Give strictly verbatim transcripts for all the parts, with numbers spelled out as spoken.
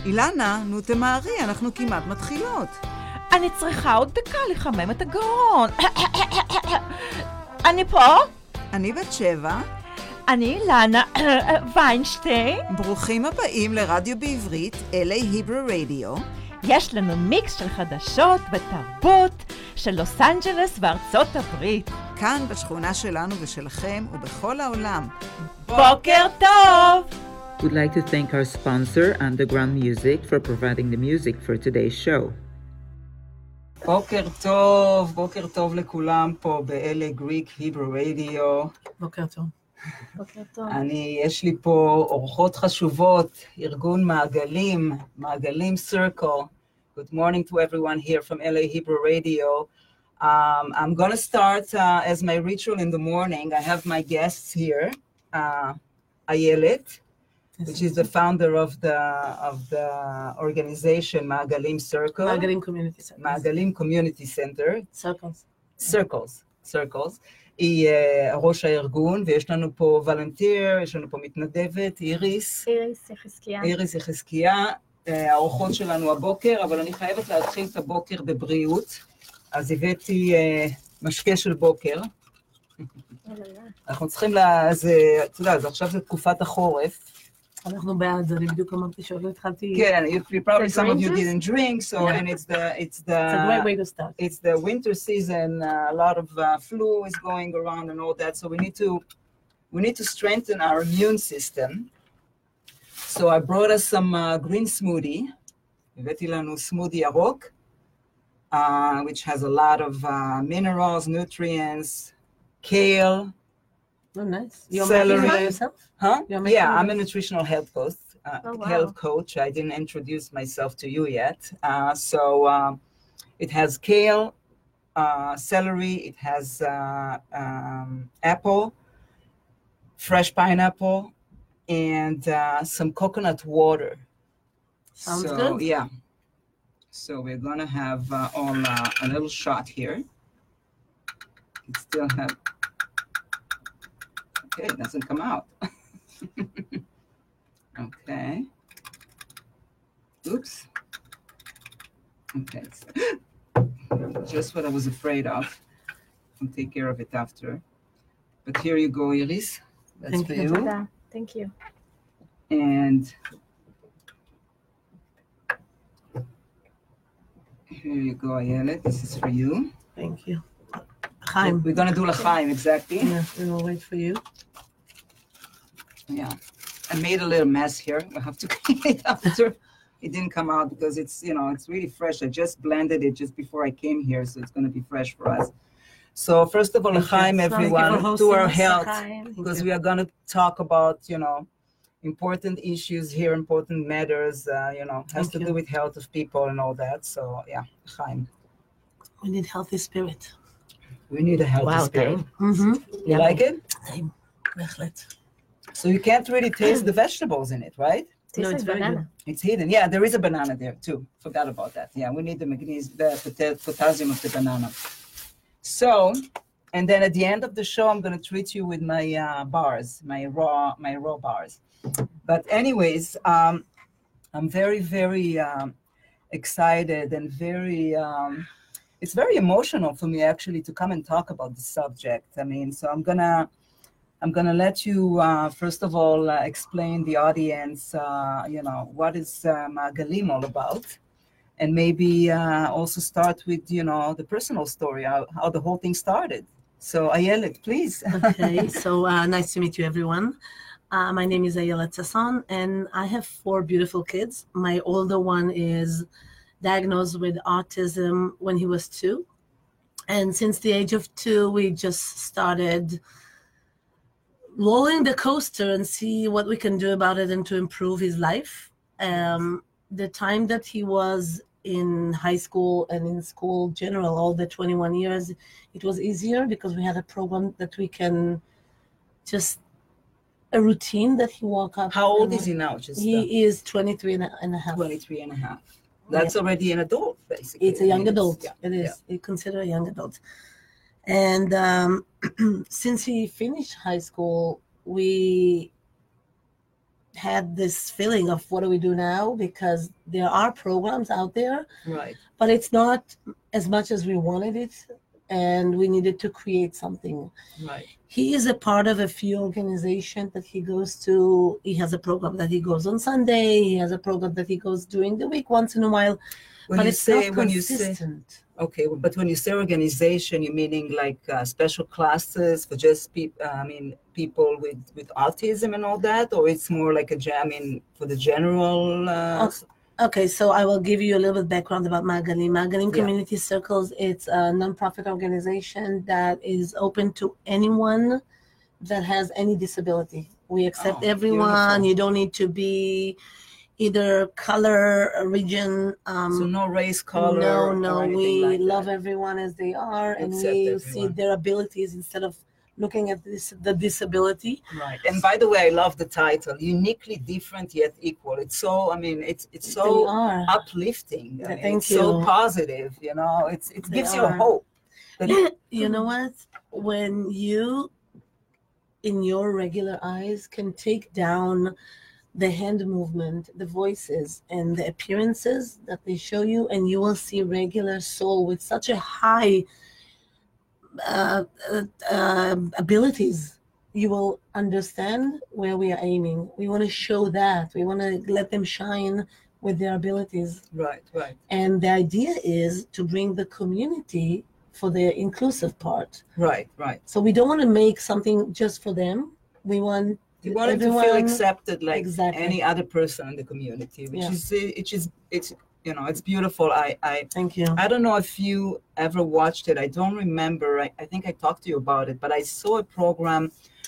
אילנה, נו תמהרי, אנחנו כמעט מתחילות. אני צריכה עוד דקה לחמם את הגרון. אני פה? אני בת שבע. אני אילנה ויינשטיין. ברוכים הבאים לרדיו בעברית, אל איי Hebrew Radio. יש לנו מיקס של חדשות ותרבות של לוס אנג'לס וארצות הברית. כאן בשכונה שלנו ושלכם ובכל העולם. בוקר טוב! We'd like to thank our sponsor, Underground Music, for providing the music for today's show. בוקר טוב, בוקר טוב לכולם פה ב-אל איי Greek Hebrew Radio. בוקר טוב. בוקר טוב. אני, יש לי פה אורחות חשובות, ארגון מעגלים, מעגלים Circle. Good morning to everyone here from L A Hebrew Radio. Um, I'm going to start uh, as my ritual in the morning. I have my guests here, uh, Ayelet, which is the founder of the of the organization Magalim Circle. Magalim Community Center. Magalim Community Center. Circles. Circles. Circles. היא uh, ראש הארגון, ויש לנו פה וולנטיר, יש לנו פה מתנדבת, איריס. איריס יחזקיה. איריס יחזקיה, uh, האורחות שלנו הבוקר, אבל אני חייבת להתחיל את הבוקר בבריאות, אז הבאתי uh, משקה של בוקר. אנחנו צריכים לה... אז, אתה יודע, אז עכשיו זה תקופת החורף. אנחנו בעד, אני בדיוק אמרתי שעוד לא התחלתי... כן, probably some of you didn't drink, so and it's the it's the It's a great way to start. It's the winter season, uh, a lot of uh, flu is going around and all that, so we need to we need to strengthen our immune system. So I brought us some uh, green smoothie. הבאתי לנו smoothie ירוק, uh, which has a lot of uh, minerals, nutrients, kale. Oh, nice. You're celery. making it by yourself? Huh? You're Yeah, making I'm it? a nutritional health coach. Uh, Oh, wow. health coach. I didn't introduce myself to you yet. Uh, so um, it has kale, uh, celery. It has uh, um, apple, fresh pineapple, and uh, some coconut water. Sounds so, good. Yeah. So we're gonna have uh, all uh, a little shot here. It still have. Okay, it doesn't come out. Okay. Oops. Okay. Just what I was afraid of. I'll take care of it after. But here you go, Iris. That's Thank for you. you. תודה. Thank you. And here you go, Ayelet. This is for you. Thank you. Chaim. We're going to do L'chaim, exactly. Yeah, we will wait for you. Yeah. I made a little mess here. I have to clean it after. It didn't come out because it's, you know, it's really fresh. I just blended it just before I came here, so it's going to be fresh for us. So first of all, Thank you. L'chaim, Thank you for everyone, to hosting our us. health, L'chaim. because we are going to talk about, you know, important issues here, important matters, uh, you know, has Thank to you. do with health of people and all that. So yeah, L'chaim. We need healthy spirit. We need a healthy Wow, spirit. Mm-hmm. You like it? Same. בהחלט. So you can't really taste the vegetables in it, right? Tastes No, like it's very banana. It's hidden. Yeah, there is a banana there too. Forgot about that. Yeah, we need the magnesium, the pot- potassium of the banana. So, and then at the end of the show, I'm going to treat you with my uh, bars, my raw, my raw bars. But anyways, um, I'm very, very um, excited and very. Um, it's very emotional for me actually to come and talk about the subject. I mean, so I'm gonna. I'm going to let you, uh, first of all, uh, explain the audience, uh, you know, what is uh, Magalim all about, and maybe uh, also start with, you know, the personal story, how, how the whole thing started. So, Ayelet, please. Okay, so uh, nice to meet you, everyone. Uh, my name is Ayelet Sasson, and I have four beautiful kids. My older one is diagnosed with autism when he was two. And since the age of two, we just started rolling the coaster and see what we can do about it and to improve his life. Um, the time that he was in high school and in school general, all the twenty-one years, it was easier because we had a program that we can just, a routine that he woke up. How old and- is he now? Just He is twenty-three and a, and a half. twenty-three and a half. That's already an adult, basically. It's a young I mean, adult. yeah, It is. yeah. It's considered a young adult. And um, since he finished high school, we had this feeling of what do we do now, because there are programs out there, Right. but it's not as much as we wanted it, and we needed to create something. Right. He is a part of a few organizations that he goes to. He has a program that he goes on Sunday. He has a program that he goes during the week once in a while. When but you it's say not when you say consistent. okay, but when you say organization, you meaning like uh, special classes for just people? I mean, people with with autism and all that, or it's more like a jam in for the general. Uh, Okay. Okay, so I will give you a little bit background about Magalim. Magalim Yeah. Community Circles, it's a nonprofit organization that is open to anyone that has any disability. We accept Oh, everyone. beautiful. You don't need to be either color, region. Um, so no race, color. no, or no, anything we like love that. everyone as they are, and Accept we everyone. see their abilities instead of looking at this the disability. Right. And by the way, I love the title, uniquely different yet equal. It's so, I mean, it's it's They so are. uplifting. I Yeah, mean, thank it's so you. positive, you know, it's it They gives you a are. hope. that- You know what? When you, in your regular eyes, can take down the hand movement, the voices, and the appearances that they show you, and you will see regular soul with such a high uh, uh, uh, abilities. You will understand where we are aiming. We want to show that. We want to let them shine with their abilities. right, right, And the idea is to bring the community for the inclusive part. right, right. So we don't want to make something just for them. We want You want them to feel everyone- accepted like Exactly. any other person in the community, which Yeah. is it is it's you know it's beautiful. I I Thank you. I don't know if you ever watched it. I don't remember. I, I think I talked to you about it, but I saw a program.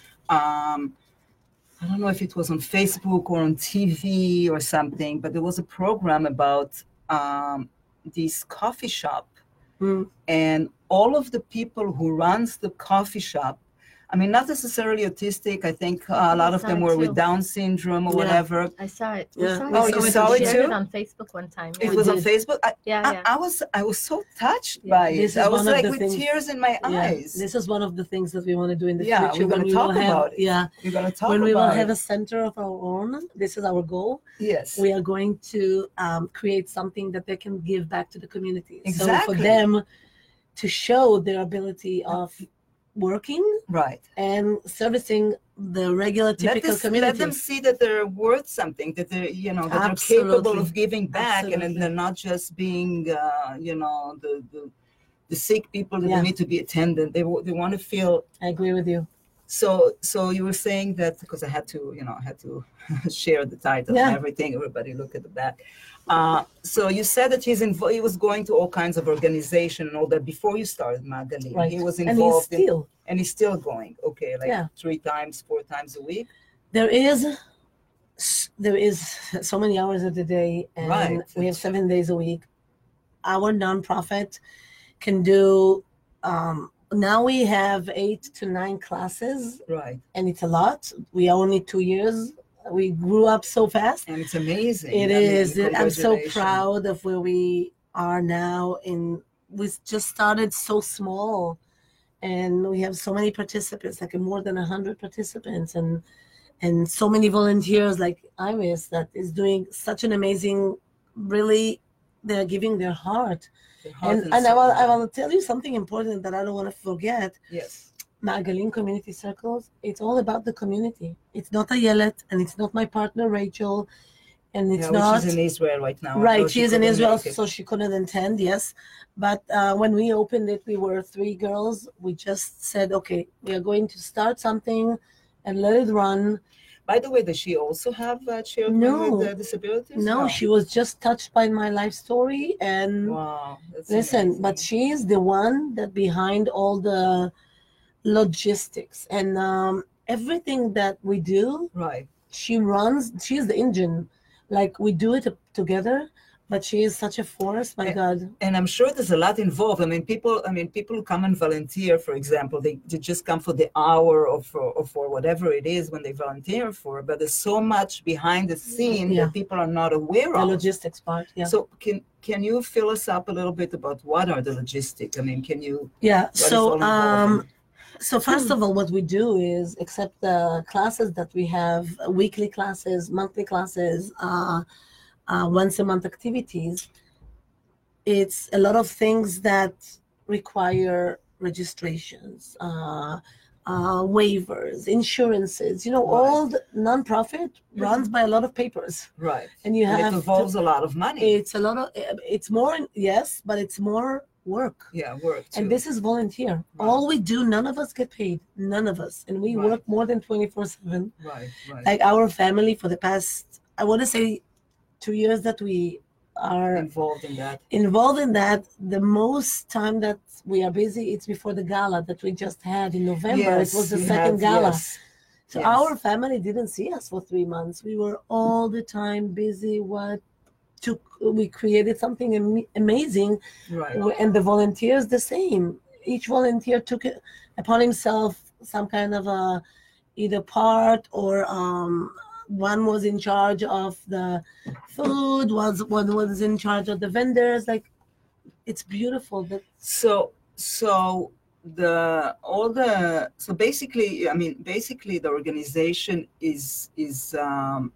Um, I don't know if it was on Facebook or on T V or something, but there was a program about um, this coffee shop, Mm. and all of the people who runs the coffee shop. I mean, not necessarily autistic. I think uh, a lot of them Sorry, were too. with Down syndrome or Yeah. whatever. I saw it. Yeah. We saw Oh, it. you We saw it shared too? it on Facebook one time. It Yeah, We was on did. Facebook. I, yeah. I, yeah. I was I was so touched Yeah. by This it. is I was one of like the with things- tears in my Yeah. eyes. This is one of the things that we want to do in the Yeah, future. we're gonna when we talk will have, about it. Yeah. You're gonna talk When we will about have it. a center of our own, this is our goal. Yes. We are going to um, create something that they can give back to the community. So Exactly. for them to show their ability of working Right. and servicing the regular Let, typical this, community. let them see that they're worth something, that they're, you know, that they're capable Absolutely. of giving back, and, Absolutely. and they're not just being, uh, you know, the, the the sick people that Yeah. need to be attended. They wa- they want to feel. I agree with you. So so you were saying that because I had to, you know, I had to share the title Yeah. and everything. Everybody look at the back. Uh, so you said that he's invo- he was going to all kinds of organization and all that before you started Magalim. Right. He was And he's involved in, still. and he's still going. Okay, like Yeah. three times, four times a week. There is there is so many hours of the day, and Right. we have seven days a week. Our nonprofit can do. Um, now we have eight to nine classes, Right. and it's a lot. We are only two years. We grew up so fast. And it's amazing. It I mean, is. It- I'm so congratulations. proud of where we are now. In we just started so small, and we have so many participants, like more than a hundred participants, and and so many volunteers like Iris that is doing such an amazing. Really, they're giving their heart. The heart And and I soul. will I will tell you something important that I don't want to forget. Yes. Magalim Community Circles, it's all about the community. It's not Ayelet, and it's not my partner Rachel, and it's Yeah, not which is in Israel right now. right. although She is in couldn't Israel, make it. so she couldn't attend. Yes, but uh, when we opened it, we were three girls. We just said, okay, we are going to start something, and let it run. By the way, does she also have uh, children No. with uh, disabilities? No, she was just touched by my life story, and Wow. That's listen, amazing. but she is the one that behind all the logistics and um, everything that we do. Right. She runs. She is the engine. Like we do it together, but she is such a force. My And- God. And I'm sure there's a lot involved. I mean, people. I mean, people who come and volunteer, for example, they, they just come for the hour or for or for whatever it is when they volunteer for. But there's so much behind the scene Yeah. that people are not aware The of. logistics part. Yeah. So can can you fill us up a little bit about what are the logistics? I mean, can you? Yeah. what is all So involved um, So first of all, what we do is, except the classes that we have, uh, weekly classes, monthly classes, uh, uh, once a month activities, it's a lot of things that require registrations, uh, uh, waivers, insurances, you know, Right. all the nonprofit runs by a lot of papers. Right. And you And have it to- involves a lot of money. It's a lot of, it's more, yes, but it's more work. yeah, work too. And this is volunteer. Right. All we do, none of us get paid. None of us. And we Right. work more than twenty-four seven. right, right. Like our family for the past, I want to say two years that we are involved in that. involved in that, the most time that we are busy, it's before the gala that we just had in November. It was the you second have- gala. yes, So yes. our family didn't see us for three months. We were all the time busy. What took, we created something am- amazing. Right. And the volunteers the same. Each volunteer took it upon himself some kind of a either part, or um, one was in charge of the food, was one was in charge of the vendors. Like, it's beautiful that So so the all the so basically, I mean, basically the organization is is um,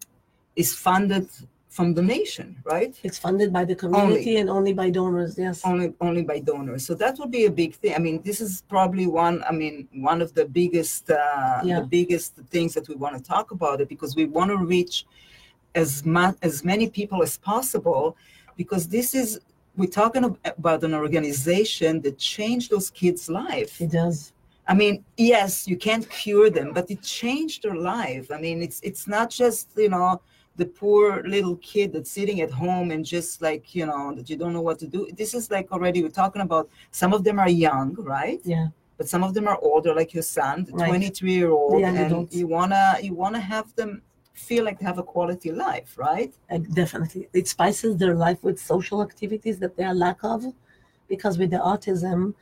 is funded from donation, right? it's funded by the community and only by donors. Yes. Only only by donors. So that would be a big thing. I mean, this is probably one. I mean, one of the biggest uh, Yeah. the biggest things that we want to talk about it, because we want to reach as much as many people as possible, because this is we're talking ab- about an organization that changed those kids' life. It does. I mean, yes, you can't cure them, but it changed their life. I mean, it's it's not just, you know, the poor little kid that's sitting at home and just like, you know, that you don't know what to do. This is like already, we're talking about, some of them are young, right? Yeah. But some of them are older, like your son, the Right. twenty-three year old, Young and adults. you wanna you wanna have them feel like they have a quality life, right? Uh, definitely. It spices their life with social activities that they are lack of, because with the autism,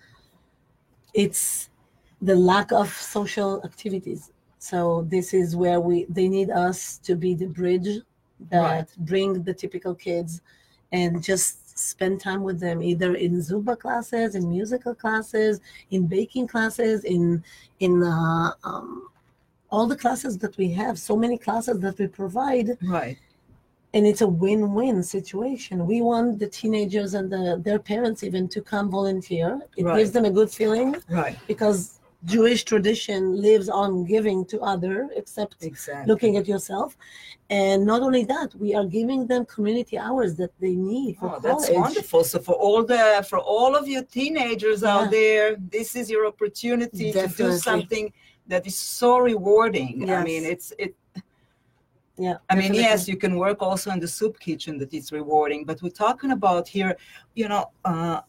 it's the lack of social activities. So this is where we they need us to be the bridge that Right. bring the typical kids and just spend time with them, either in Zumba classes, in musical classes, in baking classes, in in uh, um, all the classes that we have, so many classes that we provide. Right. And it's a win-win situation. We want the teenagers and the, their parents even to come volunteer. It Right. gives them a good feeling, Right. because Jewish tradition lives on giving to other, except Exactly. looking at yourself. And not only that, we are giving them community hours that they need for Oh, that's college. wonderful. So for all the for all of you teenagers Yeah. out there, this is your opportunity to do Definitely. something that is so rewarding. I Yes. mean, it's it. Yeah. I mean, definitely. yes, you can work also in the soup kitchen, that it's rewarding. But we're talking about here, you know, uh,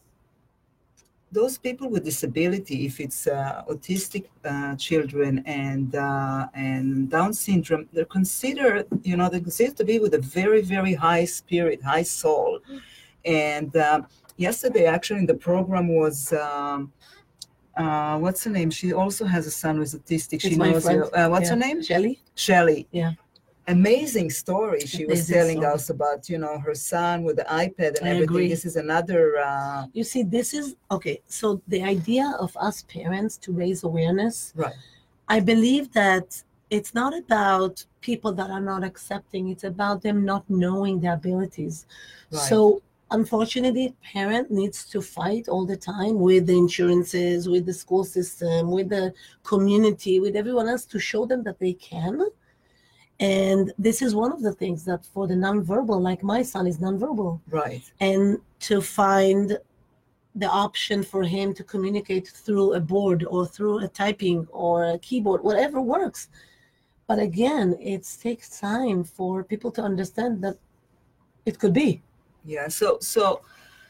those people with disability, if it's uh, autistic uh, children and uh, and Down syndrome, they're considered, you know, they're considered to be with a very, very high spirit, high soul. And uh, yesterday, actually, in the program was, um, uh, what's her name? She also has a son who's autistic. She It's my knows friend. you. Uh, what's Yeah. her name? Shelley? Shelley. Yeah. Amazing story she was Amazing telling story. us about, you know, her son with the iPad and I everything. agree. This is another, uh, You see, this is okay. So the idea of us parents to raise awareness, right, I believe that it's not about people that are not accepting. It's about them not knowing their abilities. right. So unfortunately, parent needs to fight all the time with the insurances, with the school system, with the community, with everyone else to show them that they can. And this is one of the things that for the nonverbal, like my son is nonverbal, right, and to find the option for him to communicate through a board or through a typing or a keyboard, whatever works. But again, it takes time for people to understand that it could be. yeah. So, so,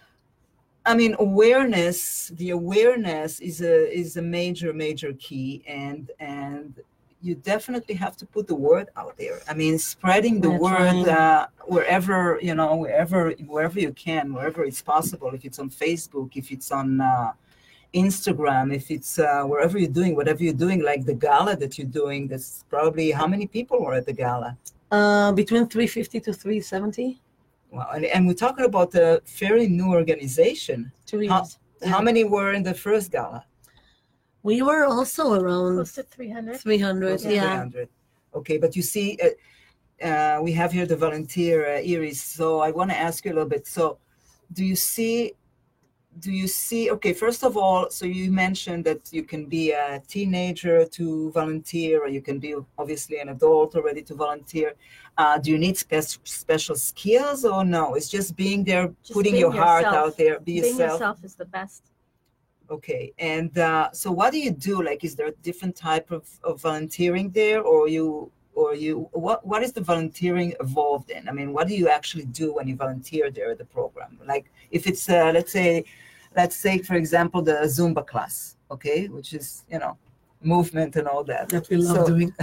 I mean, awareness. The awareness is a is a major, major key, and and you definitely have to put the word out there. I mean, spreading the We're word trying. uh, wherever, you know, wherever wherever you can, wherever it's possible. If it's on Facebook, if it's on uh, Instagram, if it's uh, wherever you're doing, whatever you're doing, like the gala that you're doing. That's probably how many people were at the gala. Uh, between three fifty to three seventy. Wow. And, and we're talking about a fairly new organization. Two How, years. how many were in the first gala? We were also around Close to three hundred. three hundred. Close to Yeah. three hundred. Okay, but you see, uh, uh, we have here the volunteer, uh, Iris. So I want to ask you a little bit. So do you see, do you see, okay, first of all, so you mentioned that you can be a teenager to volunteer, or you can be obviously an adult already to volunteer. Uh, do you need spe- special skills or no? It's just being there, Just putting being your heart yourself. out there, be Being yourself. yourself is the best. Okay, and uh, so what do you do? Like, is there a different type of, of volunteering there, or you, or you, what, what is the volunteering evolved in? I mean, what do you actually do when you volunteer there at the program? Like, if it's, uh, let's say, let's say, for example, the Zumba class, okay, which is, you know, movement and all that. That we love So- doing.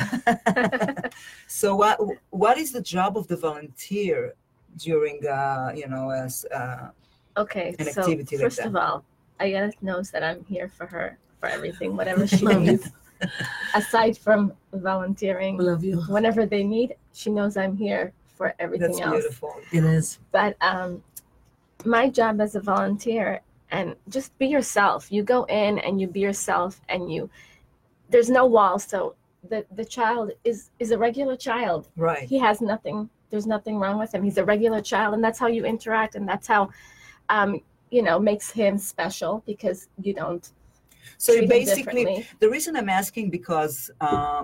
So what, what is the job of the volunteer during, uh, you know, as, uh, Okay, An so activity like first that. of all, Ayala knows that I'm here for her, for everything, whatever she Love you. needs. Aside from volunteering, We love you. whenever they need, she knows I'm here for everything that's else. beautiful. It is. But um, my job as a volunteer, and just be yourself. You go in and you be yourself, and you, there's no walls. So the, the child is, is a regular child. Right. He has nothing, there's nothing wrong with him. He's a regular child, and that's how you interact, and that's how, um, you know, makes him special, because you don't So you treat him basically, differently. the reason I'm asking, because uh,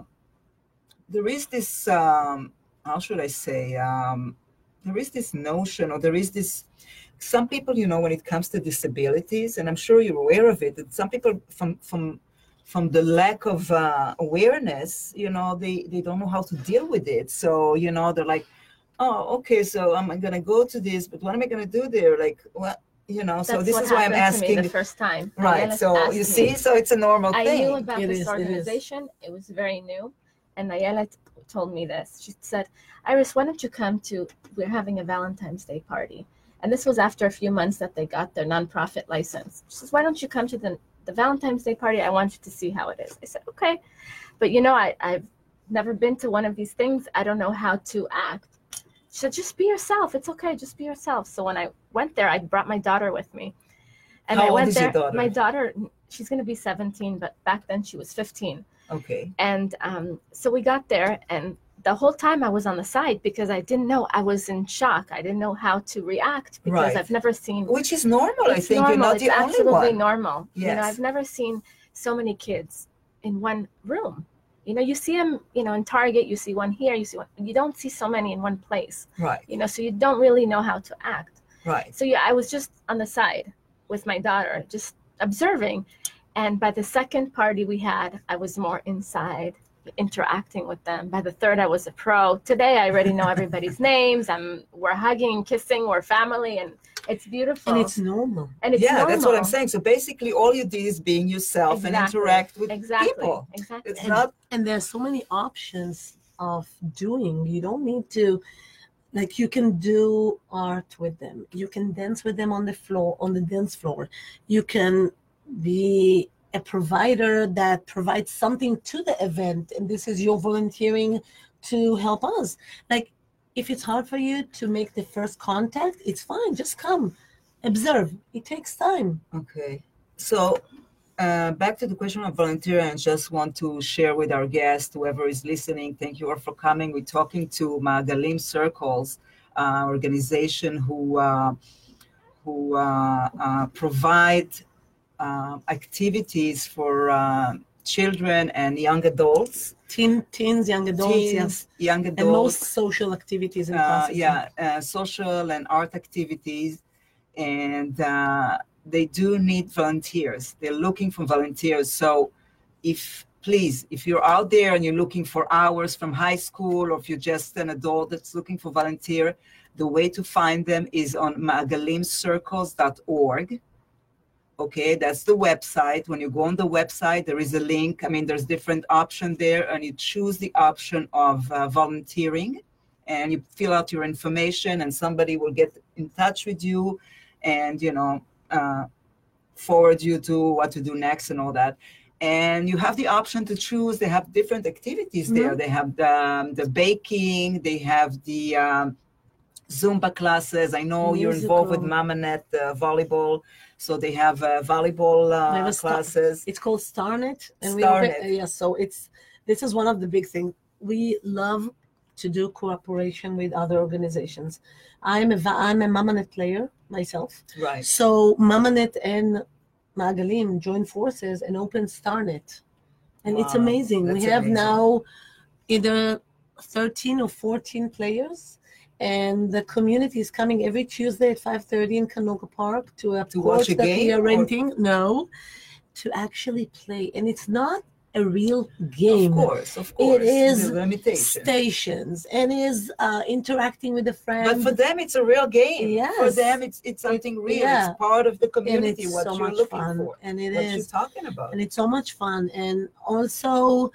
there is this, um, how should I say, um, there is this notion, or there is this, some people, you know, when it comes to disabilities, and I'm sure you're aware of it, that some people from, from, from the lack of uh, awareness, you know, they, they don't know how to deal with it. So, you know, they're like, oh, okay, so I'm going to go to this, but what am I going to do there? Like, what, you know, so That's this what is why I'm happened to me asking. the first time. Right, Ayala so asked you me. see, so it's a normal I thing. knew about It this is, it is. organization. It was very new. And Ayala t- told me this. She said, Iris, why don't you come to, we're having a Valentine's Day party. And this was after a few months that they got their nonprofit license. She says, why don't you come to the, the Valentine's Day party? I want you to see how it is. I said, okay. But you know, I, I've never been to one of these things. I don't know how to act. She said, just be yourself. It's okay. Just be yourself. So when I went there, I brought my daughter with me. And How I old went is your there. daughter? My daughter, she's going to be seventeen, but back then she was fifteen. Okay. And um, so we got there, and the whole time I was on the side because I didn't know. I was in shock. I didn't know how to react because Right. I've never seen. Which is normal. I It's think you're normal. not It's the only absolutely one. normal. You know, Yes. I've never seen so many kids in one room. You know, you see them, you know, in Target, you see one here, you see one. You don't see so many in one place. Right, You know, so you don't really know how to act. right. So yeah, I was just on the side with my daughter, just observing. And by the second party we had, I was more inside, interacting with them. By the third, I was a pro. Today, I already know everybody's names. I'm we're hugging and kissing. We're family, and it's beautiful. And it's normal. And it's Yeah, that's what I'm normal. saying. So basically, all you do is being yourself and Exactly. interact with Exactly. people. Exactly. It's And, not and there's so many options of doing. You don't need to, like, you can do art with them. You can dance with them on the floor, on the dance floor. You can be a provider that provides something to the event, and this is your volunteering to help us. Like, if it's hard for you to make the first contact, it's fine. Just come, observe. It takes time. okay. So uh, back to the question of volunteering, I just want to share with our guest, whoever is listening, thank you all for coming. We're talking to Ma'agalim Circles, uh, organization who uh, who uh, uh, provide uh, activities for uh, children and young adults, Teen, teens, young adults, teens, yes. young And adults. most social activities and uh, classes. yeah, uh, social and art activities, and uh, they do need volunteers. They're looking for volunteers. So if, please, if you're out there and you're looking for hours from high school, or if you're just an adult that's looking for volunteer, the way to find them is on ma'agalim circles dot org. Okay, that's the website. When you go on the website, there is a link. I mean, there's different options there, and you choose the option of uh, volunteering, and you fill out your information, and somebody will get in touch with you, and you know, uh, forward you to what to do next and all that. And you have the option to choose. They have different activities there. They have the, um, the baking. They have the um, Zumba classes. I know you're involved with Musical. Mamanet uh, volleyball, so they have uh, volleyball We have uh, a star- classes. It's called StarNet, and we StarNet. open, yeah. So it's this is one of the big things. We love to do cooperation with other organizations. I'm a va- I'm a Mamanet player myself, Right. so Mamanet and Magalim joined forces and opened StarNet, and it's Wow, amazing. We that's have amazing. now either thirteen or fourteen players. And the community is coming every Tuesday at five thirty in Canoga Park to a To court watch a that we game, are or- renting. No, to actually play. And it's not a real game. Of course, of course. is the limitation. Stations and is uh, interacting with a friend. But for them, it's a real game. For Yes. them, it's it's something real. yeah. It's part of the and community. it's What so you're much looking fun. for. And it What is. you're talking about. And it's so much fun. And also,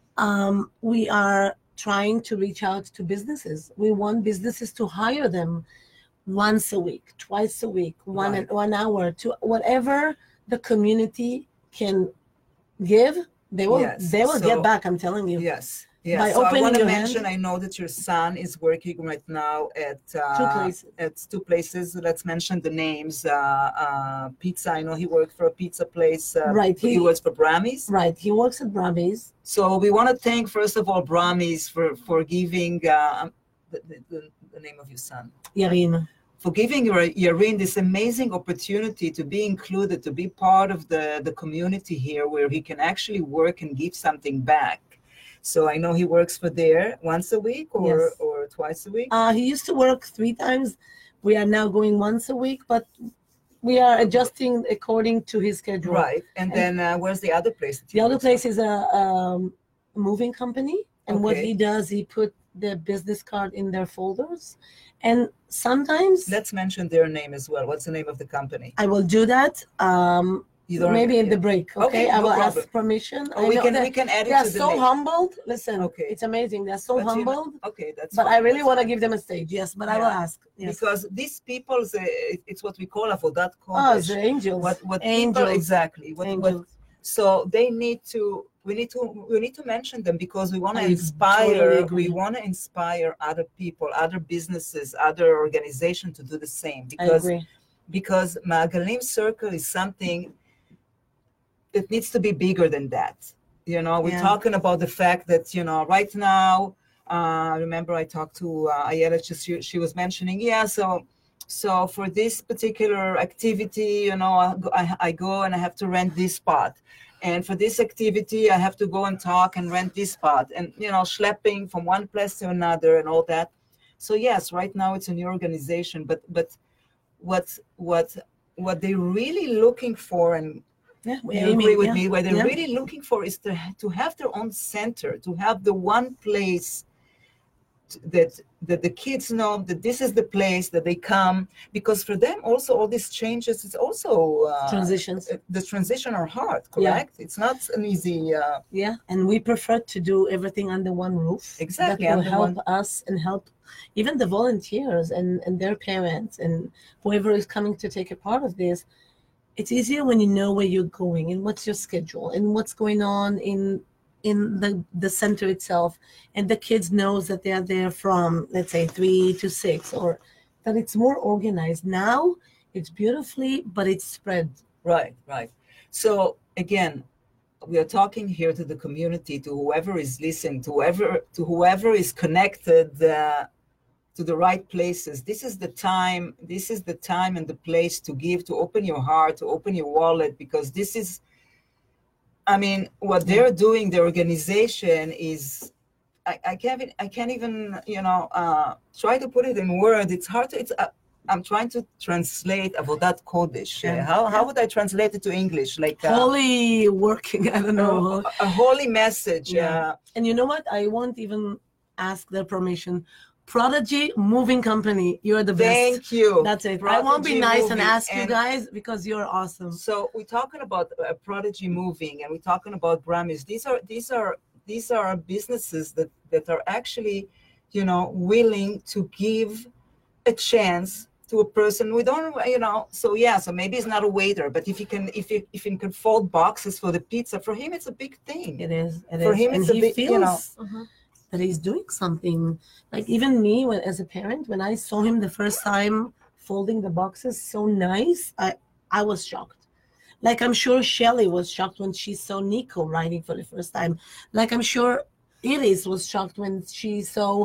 um, we are trying to reach out to businesses. We want businesses to hire them once a week, twice a week, one Right. one hour, to whatever the community can give. They will. Yes. They will So- get back. I'm telling you. Yes. Yes. By so I opening want to your mention, hand- I know that your son is working right now at uh, Two places. at two places. Let's mention the names. Uh, uh, pizza. I know he worked for a pizza place. Uh, Right, He, he- works for Brammy's. Right. He works at Brammy's. So we want to thank first of all Brammy's for for giving uh, the, the, the, the name of your son. Yarin. For giving your Yarin this amazing opportunity to be included, to be part of the, the community here where he can actually work and give something back. So I know he works for there once a week or, Yes. or twice a week. Uh, he used to work three times. We are now going once a week, but we are adjusting according to his schedule. Right. And then uh, where's the other place? that he The other works place is a um, moving company, and what Okay. he does, he put the business card in their folders, and sometimes for? Let's mention their name as well. What's the name of the company? I will do that. Um, You don't- maybe in the yeah. break. Okay, Okay, I no will problem. ask permission. Oh, I we know can that we can add they it are to the so list. humbled. Listen, Okay. it's amazing. They're so But you know- humbled. Okay, that's But fine, I really that's want to fine. give them a stage. Yes, but I will Yeah. ask. Yes. Because these people, uh, it- it's what we call avodat Oh, kodesh. the angels. what what angels. people exactly what, what angels. so they need to we need to we need to mention them because we want to I inspire totally agree. we want to inspire other people, other businesses, other organizations to do the same, I because agree. because Magalim Circle is something that needs to be bigger than that. You know, we're Yeah. talking about the fact that, you know, right now, uh, remember I talked to uh, Ayala, she, she was mentioning, yeah, so so for this particular activity, you know, I, go- I, I go and I have to rent this spot. And for this activity, I have to go and talk and rent this spot. And, you know, schlepping from one place to another and all that. So yes, right now it's a new organization, but but what what what they're really looking for, and Yeah, we you aiming, agree with yeah. me, what they're Yeah. really looking for is to to have their own center, to have the one place t- that that the kids know that this is the place that they come, because for them also all these changes is also uh, Transitions. uh, the transition are hard, Yeah. correct? It's not an easy uh, Yeah, and we prefer to do everything under one roof. Exactly, That will under help one- us and help even the volunteers and, and their parents and whoever is coming to take a part of this. It's easier when you know where you're going and what's your schedule and what's going on in in the, the center itself. And the kids knows that they are there from, let's say, three to six, or that it's more organized. Now it's beautifully, but it's spread. Right, right. So again, we are talking here to the community, to whoever is listening, to whoever to whoever is connected uh, to the right places. This is the time. This is the time and the place to give, to open your heart, to open your wallet, because this is. I mean, what they're doing, the organization is. I, I can't. I can't even. You know, uh, try to put it in words. It's hard to. It's. Uh, I'm trying to translate avodat kodesh. Yeah. How how would I translate it to English? Like uh, Holy working, I don't know. a, a holy message. Yeah. Uh, And you know what? I won't even ask their permission. Prodigy Moving Company, you're the best. thank you. That's it. I won't be Prodigy nice and Moving. ask you And guys because you're awesome. So we're talking about uh, Prodigy Moving, and we're talking about Brammy's. These are these are these are businesses that that are actually, you know, willing to give a chance to a person. We don't, you know. So yeah. So maybe it's not a waiter, but if he can, if he if he can fold boxes for the pizza, for him it's a big thing. It is. It For is. him, and it's a he big, feels you know, Mhm. that he's doing something. Like even me, when, as a parent, when I saw him the first time folding the boxes so nice, I, I was shocked. Like I'm sure Shelly was shocked when she saw Nico writing for the first time. Like I'm sure Iris was shocked when she saw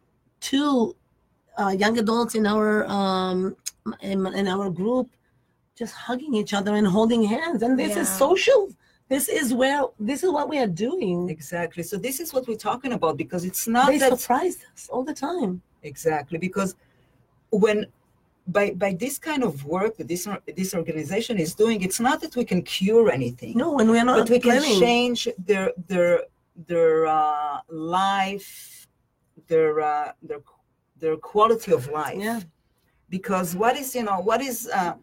two uh, young adults in our um, in, in our group just hugging each other and holding hands. And this Yeah. is social. This is where, this is what we are doing. Exactly. So this is what we're talking about, because it's not They that surprised us all the time. exactly because when by by this kind of work that this this organization is doing, it's not that we can cure anything. No, and we're not but we can planning. change their their their uh, life, their uh, their their quality of life. Yeah. Because what is you know what is uh,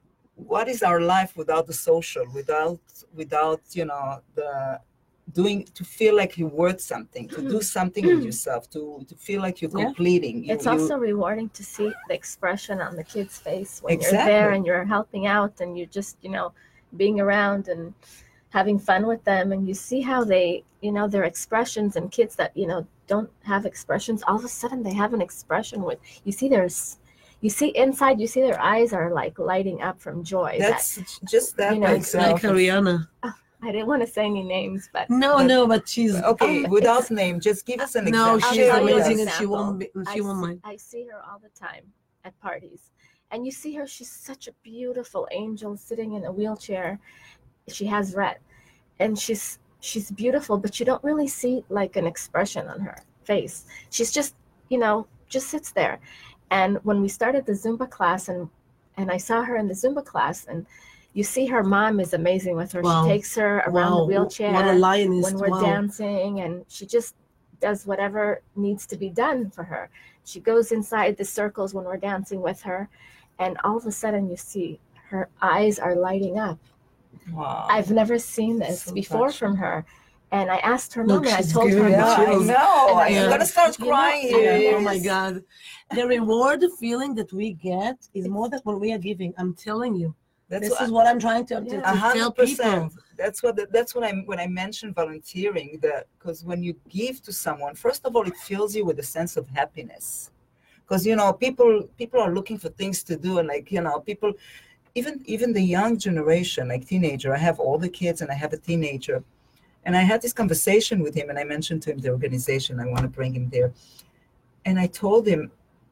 what is our life without the social, without without you know the doing to feel like you're worth something, to do something with yourself, to to feel like you're Yeah. completing. You, It's you- also rewarding to see the expression on the kid's face when you're Exactly. there and you're helping out and you're just, you know, being around and having fun with them, and you see how they, you know, their expressions, and kids that, you know, don't have expressions, all of a sudden they have an expression with, you see there's, you see inside, you see their eyes are like lighting up from joy. That- that's just that you know, by it's itself. Like Ariana. I didn't want to say any names, but No, But- no, but she's Okay, without name, just give us an no, example. I'll she's tell you an amazing, and she example. won't. Be, she I won't see, mind. I see her all the time at parties, and you see her. She's such a beautiful angel sitting in a wheelchair. She has Rett, and she's she's beautiful, but you don't really see like an expression on her face. She's just, you know, just sits there. And when we started the Zumba class, and and I saw her in the Zumba class, and you see her mom is amazing with her. Wow. She takes her around Wow, the wheelchair what a lioness! when we're wow. dancing, and she just does whatever needs to be done for her. She goes inside the circles when we're dancing with her, and all of a sudden you see her eyes are lighting up. Wow. I've never seen this So before touching. from her. And I asked her Look, mom, and I she's told her giving me yeah, mom. I chills. know. And I I'm said, gonna start you know, crying yeah, here. Oh my God. The reward feeling that we get is more than what we are giving. I'm telling you. That's This what, is what I'm trying to, to, Yeah. A to tell hundred people. percent. That's what. That's what I when I mentioned volunteering. That because when you give to someone, first of all, it fills you with a sense of happiness. Because you know, people people are looking for things to do, and like you know, people, even even the young generation, like teenager. I have all the kids, and I have a teenager, and I had this conversation with him, and I mentioned to him the organization. I want to bring him there, and I told him,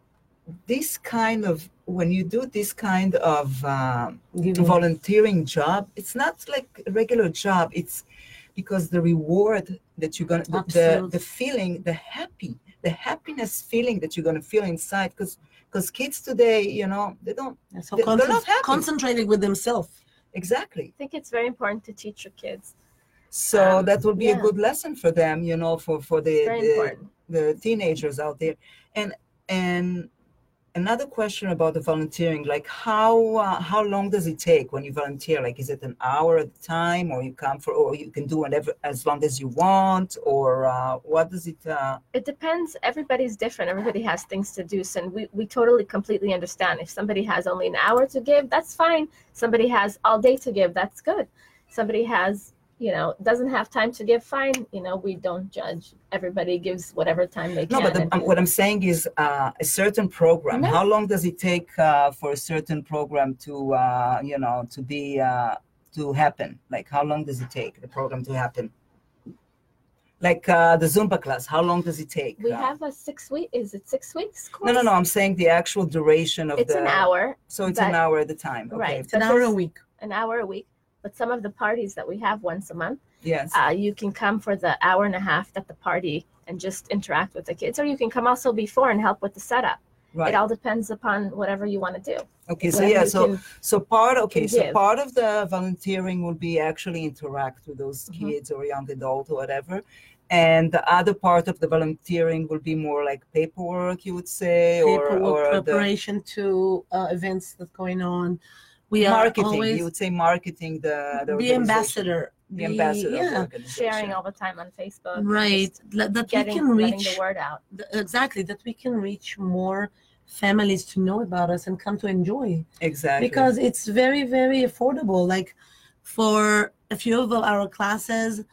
this kind of when you do this kind of um, Giving. volunteering job, it's not like a regular job. It's because the reward that you're gonna the, the Absolutely. the feeling, the happy, the happiness feeling that you're gonna feel inside. Because because kids today, you know, they don't They're so They're concent- not happy. concentrated with themselves. exactly. I think it's very important to teach your kids. So Um, that will be a yeah. good lesson for them, you know, for for the Very the, important. the teenagers out there. And and another question about the volunteering, like how uh, how long does it take when you volunteer? Like, is it an hour at a time, or you come for, or you can do whatever as long as you want, or uh, what does it? Uh, It depends. Everybody's different. Everybody has things to do. So we, we totally, completely understand. If somebody has only an hour to give, that's fine. Somebody has all day to give, that's good. Somebody has, you know, doesn't have time to give, fine. You know, we don't judge. Everybody gives whatever time they no, can. but the, and- um, what I'm saying is uh, a certain program. No. How long does it take uh, for a certain program to, uh, you know, to be uh, to happen? Like, how long does it take the program to happen? Like uh, the Zumba class, how long does it take? we Uh, have a six week, is it six weeks course? No, no, no. I'm saying the actual duration of It's the. an hour, So it's but- an hour at a time. Okay. right. It's an But hour a this- week. an hour a week. But some of the parties that we have once a month, Yes. uh, you can come for the hour and a half at the party and just interact with the kids, or you can come also before and help with the setup. right. It all depends upon whatever you want to do. Okay. So Whatever yeah. you So can- so part. Okay. can So give. part of the volunteering will be actually interact with those Mhm. kids or young adult or whatever, and the other part of the volunteering will be more like paperwork, you would say, or Paperwork, or the preparation to uh, events that's going on. We are marketing. always You would say marketing the the, the organization, ambassador. the ambassador. Of the Yeah, organization. sharing all the time on Facebook. right. just That that we Getting, can letting reach the word out. th- exactly that we can reach more families to know about us and come to enjoy. Exactly. Because it's very very affordable. Like for a few of our classes,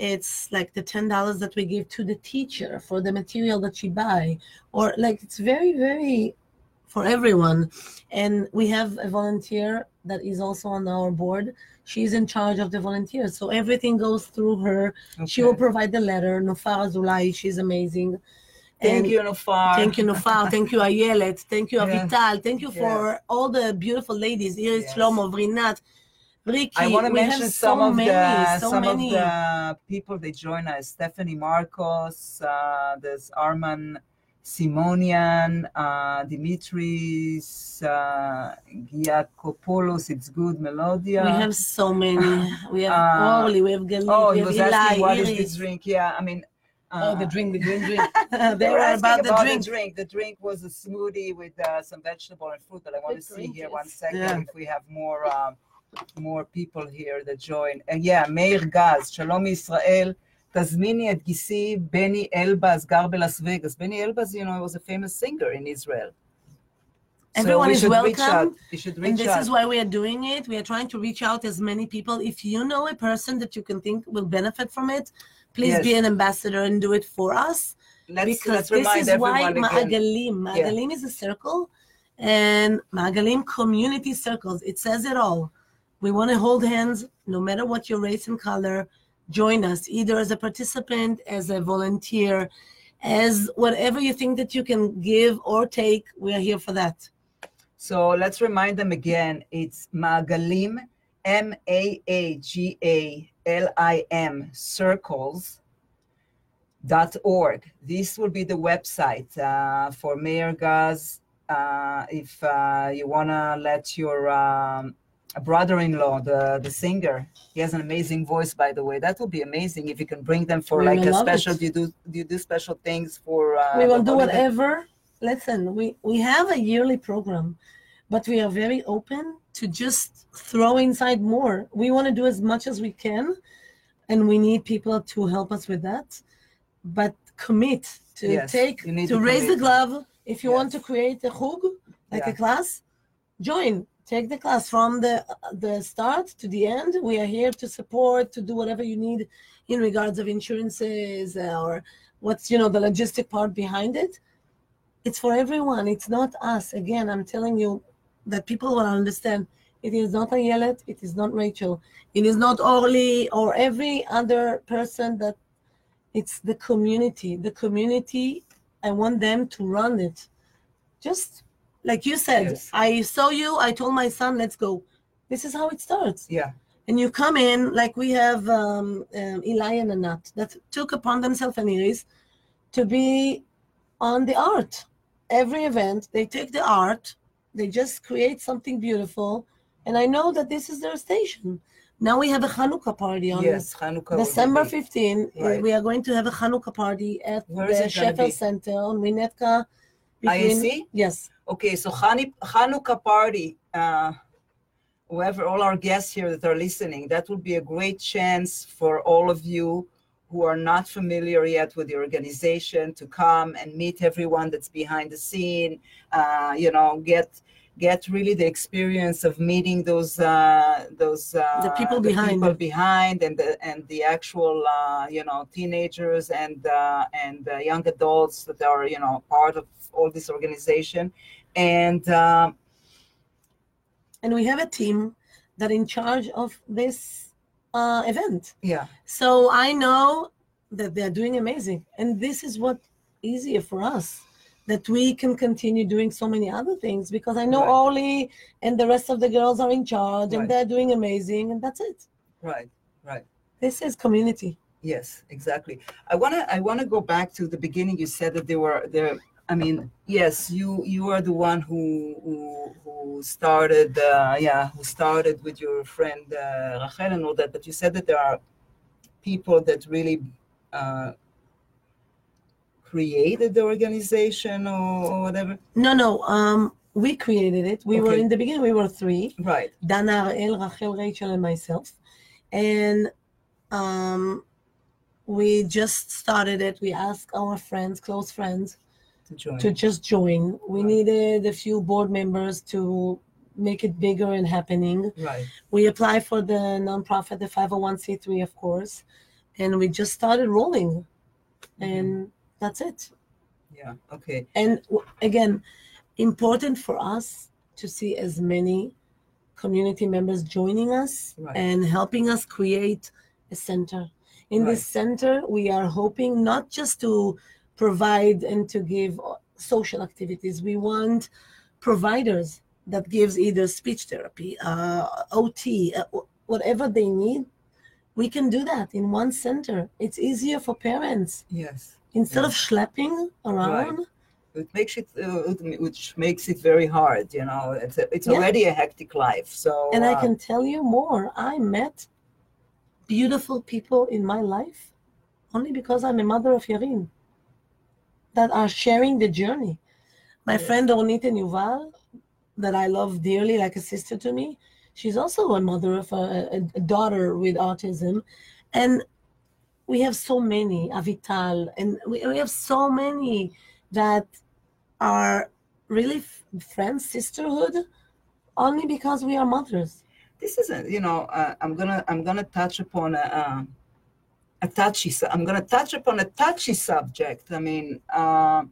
It's like the ten dollars that we give to the teacher for the material that she buy, or like it's very, very for everyone. And we have a volunteer that is also on our board. She's in charge of the volunteers. So everything goes through her. Okay. She will provide the letter. Nofar Azulai, she's amazing. Thank And you, Nofar. Thank you, Nofar. Thank you, Ayelet. Thank you, Yeah. Avital. Thank you for Yes. all the beautiful ladies. Iris, Yes. Shlomo, Vrinat, Ricky. I want to we mention have some so of many, the so some many. of the people that join us. Stephanie Marcos, uh, there's Arman Simonian, uh, Dimitris, uh, Giacopoulos, It's Good, Melodia. We have so many. We have Uh, Orly, we have Galit, oh, we he have was Eli, asking what Iris. is this drink? Yeah, I mean. Oh, uh, the drink, the green drink. They they were were asking about the about drink. the drink. The drink was a smoothie with uh, some vegetable and fruit. But I want With to see green here juice. one second Yeah. if we have more um, more people here that join. And yeah, Meir Gaz, Shalom Israel. תזמיני את גיסי בני אלבז, גר בלאס וגאס. Benny Elbaz, you know, was a famous singer in Israel. Everyone we is should reach welcome, out. You should And reach this out. is why we are doing it. We are trying to reach out as many people. If you know a person that you can think will benefit from it, please Yes. be an ambassador and do it for us. Let's, because let's this remind is why everyone again. Ma'agalim. Ma'agalim is a circle, and Ma'agalim community circles. It says it all. We want to hold hands, no matter what your race and color. Join us, either as a participant, as a volunteer, as whatever you think that you can give or take. We are here for that. So let's remind them again. It's Ma'agalim, M A A G A L I M, circles dot org. This will be the website uh, for Meir Gaz. Uh, if uh, you want to let your um, brother-in-law, the, the singer, he has an amazing voice, by the way. That would be amazing if you can bring them for We like will a love special. it. Do you do, do you do special things for? Uh, we will the do holiday? whatever. Listen, we, we have a yearly program, but we are very open to just throw inside more. We want to do as much as we can, and we need people to help us with that. But commit to Yes, take, you need to to raise the commit. glove. If you want to Yes. create a chug, like Yeah. a class, join. Take the class from the the start to the end. We are here to support, to do whatever you need in regards of insurances or what's, you know, the logistic part behind it. It's for everyone. It's not us. Again, I'm telling you that people will understand. It is not Ayelet. It is not Rachel. It is not Orly or every other person. That it's the community. The community, I want them to run it. Just like you said, Yes. I saw you. I told my son, let's go. This is how it starts. Yeah. And you come in, like we have um, um, Eli and Anat that took upon themselves, and Iris, to be on the art. Every event, they take the art, they just create something beautiful. And I know that this is their station. Now we have a Hanukkah party on Yes, Hanukkah. will December be- fifteenth. Right. We are going to have a Hanukkah party at Where is the it gonna Sheffield be? Center on Winnetka. I A C? Yes. Okay, so Hani- Hanukkah party, uh, whoever, all our guests here that are listening, that would be a great chance for all of you who are not familiar yet with the organization to come and meet everyone that's behind the scene, uh, you know, get get really the experience of meeting those uh, those uh, The people behind. people behind and the and the actual uh, you know teenagers and uh, and uh, young adults that are you know part of all this organization. And um, And we have a team that in charge of this uh, event. yeah, So I know that they're doing amazing. And this is what easier for us, that we can continue doing so many other things, because I know Right. Orly and the rest of the girls are in charge, Right. and they're doing amazing, and that's it. right, right. This is community. Yes, exactly. I wanna I wanna go back to the beginning. You said that there were there. I mean, yes, you you are the one who who, who started. Uh, yeah, who started with your friend uh, Rachel and all that. But you said that there are people that really uh, created the organization or, or whatever. No, no, um, we created it. We were Okay. in the beginning, we were three. Right. Dana, Ariel, Rachel, Rachel, and myself. And um, we just started it. We asked our friends, close friends, To join. to just join. We Right. needed a few board members to make it bigger and happening. Right. We applied for the nonprofit, the five oh one c three, of course. and we just started rolling, and that's it. Yeah. Okay. And w- again, important for us to see as many community members joining us Right. and helping us create a center. In this Right. center, we are hoping not just to provide and to give uh, social activities. We want providers that gives either speech therapy, uh, O T, uh, wh- whatever they need. We can do that in one center. It's easier for parents. Yes. Instead Yeah. of schlepping around, It makes it, uh, it- which makes it very hard. You know, it's a, it's Yeah. already a hectic life. So. and I uh, can tell you more. I met beautiful people in my life only because I'm a mother of Yarin that are sharing the journey. My Yes. friend Ornit Yuval, that I love dearly, like a sister to me, she's also a mother of a, a, a daughter with autism. And we have so many, Avital, and we, we have so many that are really f- friends, sisterhood, only because we are mothers. This is a, you know, uh, I'm gonna I'm gonna touch upon a, uh, a touchy. su- I'm gonna touch upon a touchy subject. I mean, uh,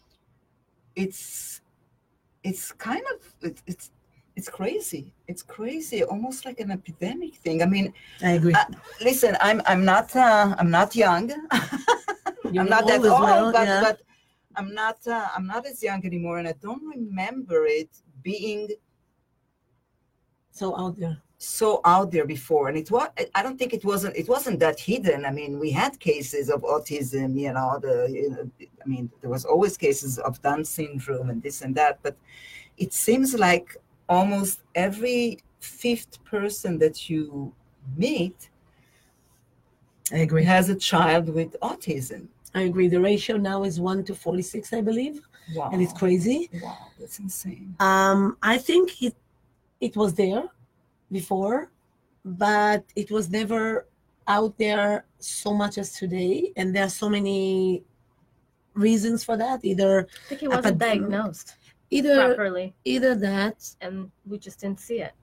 it's it's kind of it, it's it's crazy. It's crazy, almost like an epidemic thing. I mean, I agree. uh, listen, I'm I'm not uh, I'm not young. You're I'm not that old as old, well, but yeah. but I'm not uh, I'm not as young anymore, and I don't remember it being So out there. so out there before. And it was I don't think it wasn't it wasn't that hidden. I mean, we had cases of autism, you know, the you know, I mean, there was always cases of Down syndrome and this and that, but it seems like almost every fifth person that you meet I agree. has a child with autism. I agree. The ratio now is one to forty-six, I believe, Wow. and it's crazy. Wow, that's insane. Um, I think it it was there before, but it was never out there so much as today. And there are so many reasons for that. Either I think it wasn't Epidemic. diagnosed either properly, either that, and we just didn't see it.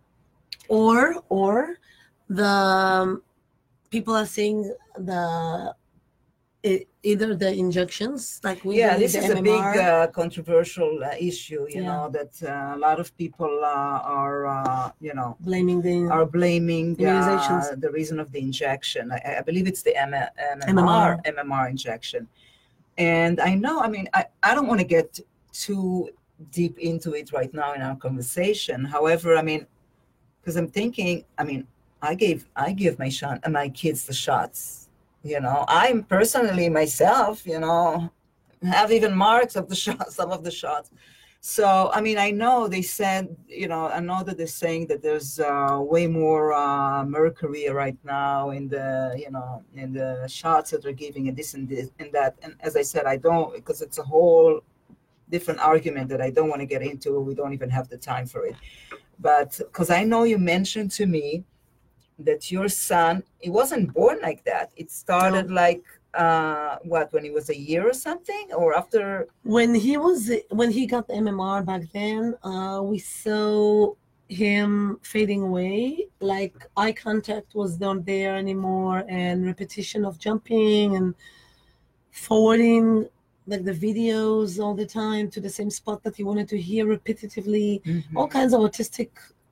or or the um, people are saying the e- either the injections, like we Yeah, believe this the is a M M big R. uh, controversial uh, issue, you Yeah. know, that uh, a lot of people uh, are, uh, you know, blaming the are blaming Immunizations. uh, the reason of the injection. I, I believe it's the M- M M M R, M R. M M R injection. And I know, I mean, I, I don't want to get too deep into it right now in our conversation. However, I mean, because I'm thinking, I mean, I gave I give my shot, uh, my kids the shots. You know, I'm personally myself, you know, have even marks of the shots, some of the shots. So, I mean, I know they said, you know, I know that they're saying that there's uh, way more uh, mercury right now in the, you know, in the shots that they're giving and this and this and that. And as I said, I don't, because it's a whole different argument that I don't want to get into. We don't even have the time for it. But because I know you mentioned to me that your son, he wasn't born like that. It started like, uh, what, when he was a year or something, or after? When he was when he got the M M R back then, uh, we saw him fading away. Like eye contact was not there anymore, and repetition of jumping and forwarding like the videos all the time to the same spot that he wanted to hear repetitively. Mhm. All kinds of autistic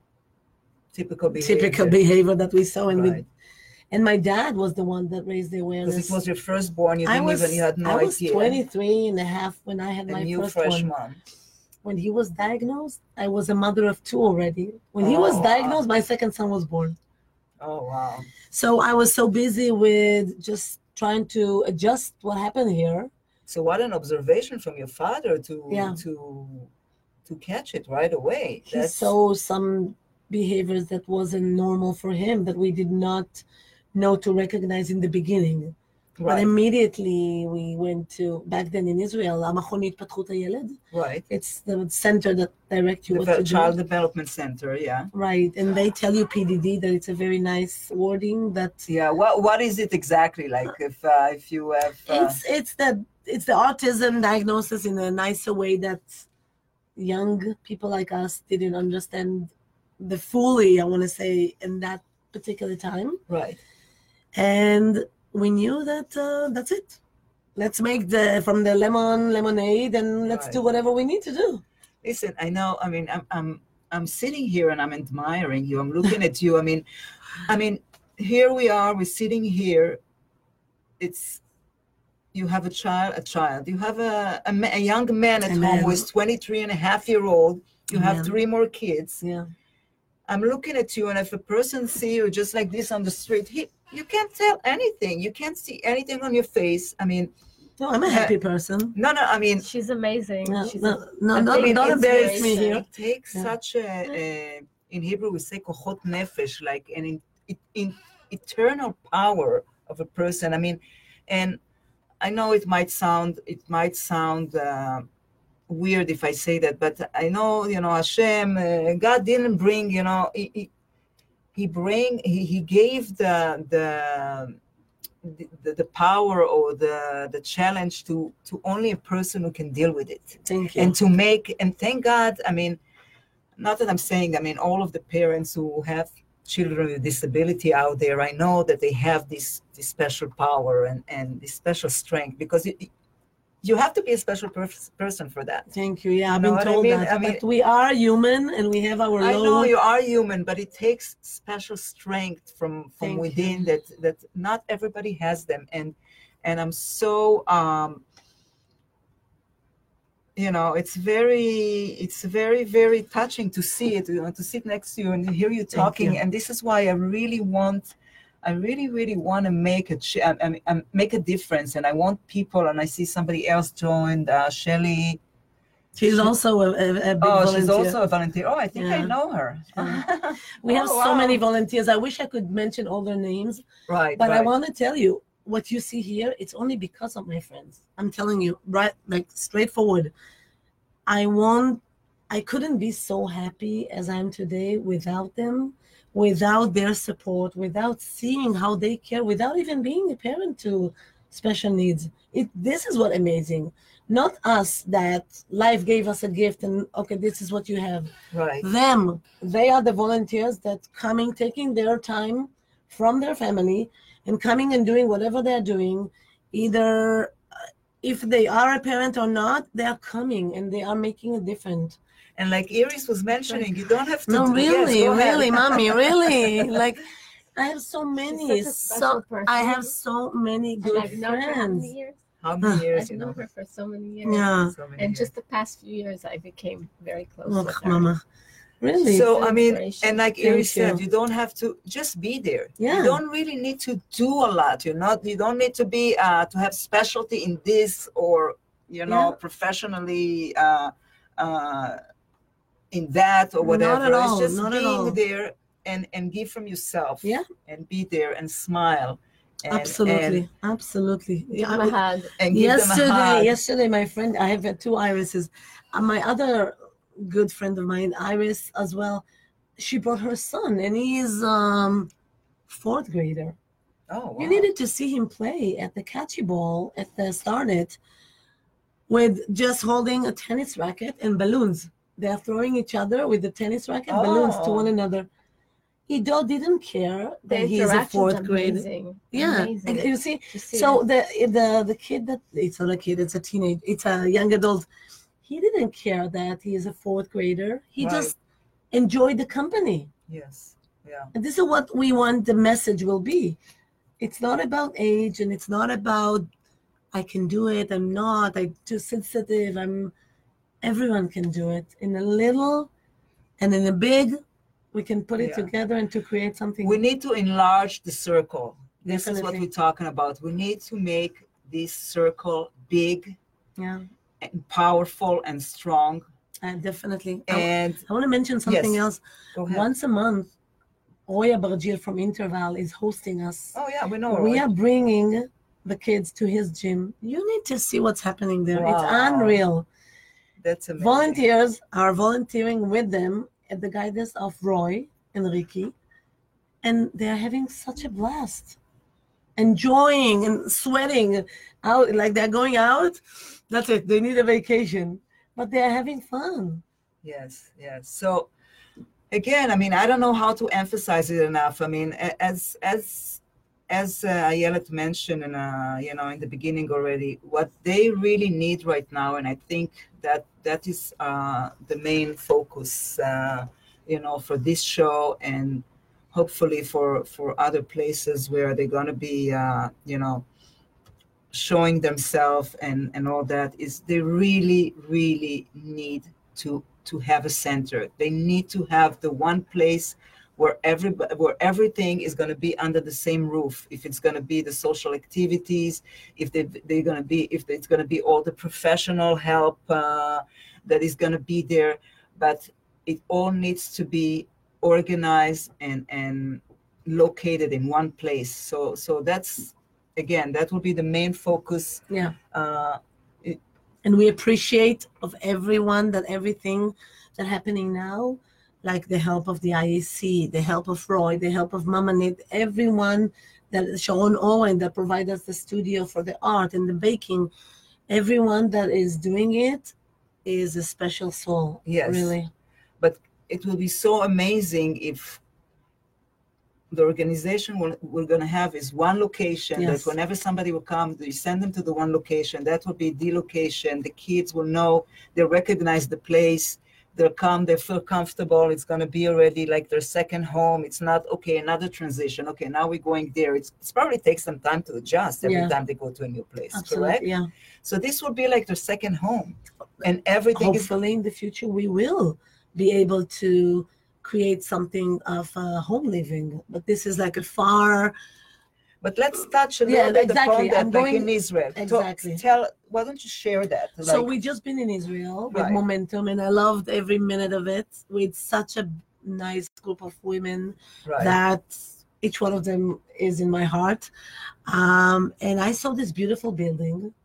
Typical behavior. typical behavior that we saw, and we Right. and my dad was the one that raised the Because awareness. it was your firstborn, you I didn't was even, you had no I was idea. twenty-three and a half when I had A my new first fresh one. mom. When he was diagnosed, I was a mother of two already. When he was Oh, wow. diagnosed, my second son was born. Oh, wow. So I was so busy with just trying to adjust what happened here. So what an observation from your father to Yeah. to to catch it right away. He saw some behaviors that wasn't normal for him that we did not know to recognize in the beginning. But right, immediately we went to, back then in Israel, המכון להתפתחות הילד. right. It's the center that directs you The what Ve- to Child do. Development Center, yeah. Right, and they tell you P D D that it's a very nice wording that Yeah, what what is it exactly like if uh, if you have uh, it's it's that it's the autism diagnosis in a nicer way that young people like us didn't understand the fully, I want to say, in that particular time. right, And we knew that uh, that's it. Let's make the from the lemon lemonade, and let's Right. do whatever we need to do. Listen, I know. I mean, I'm I'm I'm sitting here and I'm admiring you. I'm looking at you. I mean, I mean, here we are. We're sitting here. It's you have a child, a child. You have a a, ma- a young man at A home man. who is twenty-three and a half year old. You have Yeah. three more kids. Yeah. I'm looking at you, and if a person see you just like this on the street, he you can't tell anything. You can't see anything on your face. I mean, No, I'm a happy person. no, no. I mean, She's amazing. No, She's no, no, a don't, big don't embarrass me inspiration. here. it takes Yeah. such a, a in Hebrew we say kochot nefesh, like an in, in, in eternal power of a person. I mean, and I know it might sound it might sound uh, weird if I say that, but I know you know Hashem, uh, God didn't bring you know he he, he bring he, he gave the the. The, the power or the the challenge to to only a person who can deal with it Thank you. and to make and thank God. I mean, not that I'm saying, I mean, all of the parents who have children with disability out there, I know that they have this this special power and and this special strength, because you, you have to be a special pers- person for that. Thank you. Yeah, I've know been what I told mean? that. I mean- but we are human and we have our I low. know you are human, but it takes special strength from from Thank within you. that that not everybody has them, and and I'm so um you know it's very it's very very touching to see it, you know, to sit next to you and hear you talking. you. And this is why I really want I really really want to make a ch- I, I, I make a difference, and I want people. And I see somebody else joined, uh, Shelly. She's also a, a, a big Oh, volunteer. she's also a volunteer. Oh, I think I Yeah. know her. Yeah. We have Oh, so wow. many volunteers. I wish I could mention all their names, Right, but I right. want to tell you what you see here. It's only because of my friends. I'm telling you, right, like straightforward. I want. I couldn't be so happy as I am today without them, without their support, without seeing how they care, without even being a parent to special needs. It. This is what amazing. Not us, that life gave us a gift and okay, this is what you have. Right. Them, they are the volunteers that coming, taking their time from their family and coming and doing whatever they're doing. Either uh, if they are a parent or not, they are coming and they are making a difference. And like Iris was mentioning, you don't have to. No, do- really, yes, go ahead. really, mommy, really. Like, I have so many. such a special So person. I have so many And good I've known her how friends. many years? How many years I've you know? known her for so many years. Yeah. So many And years. just the past few years, I became very close Oh, with her. mama. Really? So It's I mean, inspiration. and like Thank Iris said, you. you don't have to just be there. Yeah. You don't really need to do a lot. You're not. You don't need to be uh, to have specialty in this or you know Yeah. professionally uh, uh, in that or whatever. Not at all, It's just not at being all. there and and give from yourself. Yeah. And be there and smile. And, Absolutely, absolutely. Give Yeah, them I- a hug. And, and give them a yesterday, hug. yesterday, my friend, I have uh, two irises. Uh, my other good friend of mine, Iris, as well. She brought her son, and he's um fourth grader. Oh, wow. You needed to see him play at the catchy ball at the Starnet with just holding a tennis racket and balloons. They are throwing each other with the tennis racket, balloons to Oh. one another. He do- didn't care The that he's a interaction's fourth grader. amazing. Yeah, Amazing. and you see, to see so it. the the the kid that it's not a kid, it's a teenage, it's a young adult. He didn't care that he is a fourth grader. He Right. just enjoyed the company. Yes. Yeah. And this is what we want the message will be. It's not about age and it's not about I can do it, I'm not, I'm too sensitive, I'm everyone can do it. In a little and in a big, we can put it Yeah. together and to create something. We need to enlarge the circle. This is what Definitely. we're talking about. We need to make this circle big yeah, and powerful and strong. uh, definitely. I, And I want to mention something Yes. else. go ahead. Once a month, Oya Bargil from Interval is hosting us. Oh yeah, we know. We right? are bringing the kids to his gym. You need to see what's happening there. It's Wow. unreal. That's amazing. Volunteers are volunteering with them at the guidance of Roy and Ricky, and they are having such a blast, enjoying and sweating out like they're going out. That's it. They need a vacation, but they are having fun. Yes, yes. So again, I mean, I don't know how to emphasize it enough. I mean, a- as as as uh, Ayelet mentioned, in, uh, you know, in the beginning already, what they really need right now, and I think that that is uh, the main focus, uh, you know, for this show, and hopefully for for other places where they're going to be, uh, you know, showing themselves and and all that, is they really really need to to have a center. They need to have the one place where every where everything is going to be under the same roof. If it's going to be the social activities, if they they're going to be if it's going to be all the professional help uh, that is going to be there, but it all needs to be organized and and located in one place. So so that's, again, that will be the main focus. Yeah. Uh, it, and we appreciate of everyone that everything that happening now, like the help of the I A C, the help of Roy, the help of Mama Nit, everyone that Sharon Owen that provide us the studio for the art and the baking, everyone that is doing it is a special soul. Yes. Really. But it will be so amazing if the organization will, we're going to have is one location. Yes. That whenever somebody will come, you send them to the one location. That will be the location. The kids will know, they'll recognize the place. They'll come, they feel comfortable. It's going to be already like their second home. It's not, okay, another transition. Okay, now we're going there. It's, it's probably takes some time to adjust every Yeah. time they go to a new place, Absolutely. correct? Yeah. So this will be like their second home. And everything is Hopefully in the future we will be able to create something of uh, home living. But this is like a far, But let's touch a little Yeah, bit exactly. upon that, I'm like going- in Israel. Talk- Exactly. tell, why don't you share that? so Like, we just been in Israel with Right. Momentum, and I loved every minute of it with such a nice group of women right. that each one of them is in my heart. Um, and I saw this beautiful building